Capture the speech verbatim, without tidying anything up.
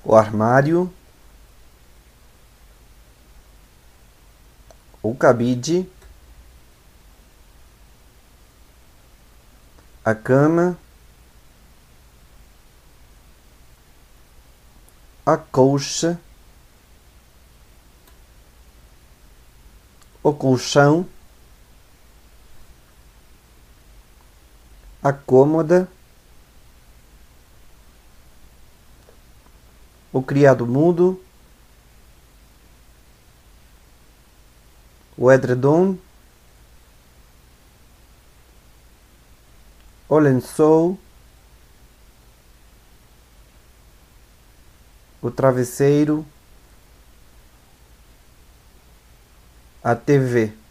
o armário, o cabide, a cama, a colcha, o colchão, a cômoda, o criado mudo, o edredom, o lençol, o travesseiro, a T V.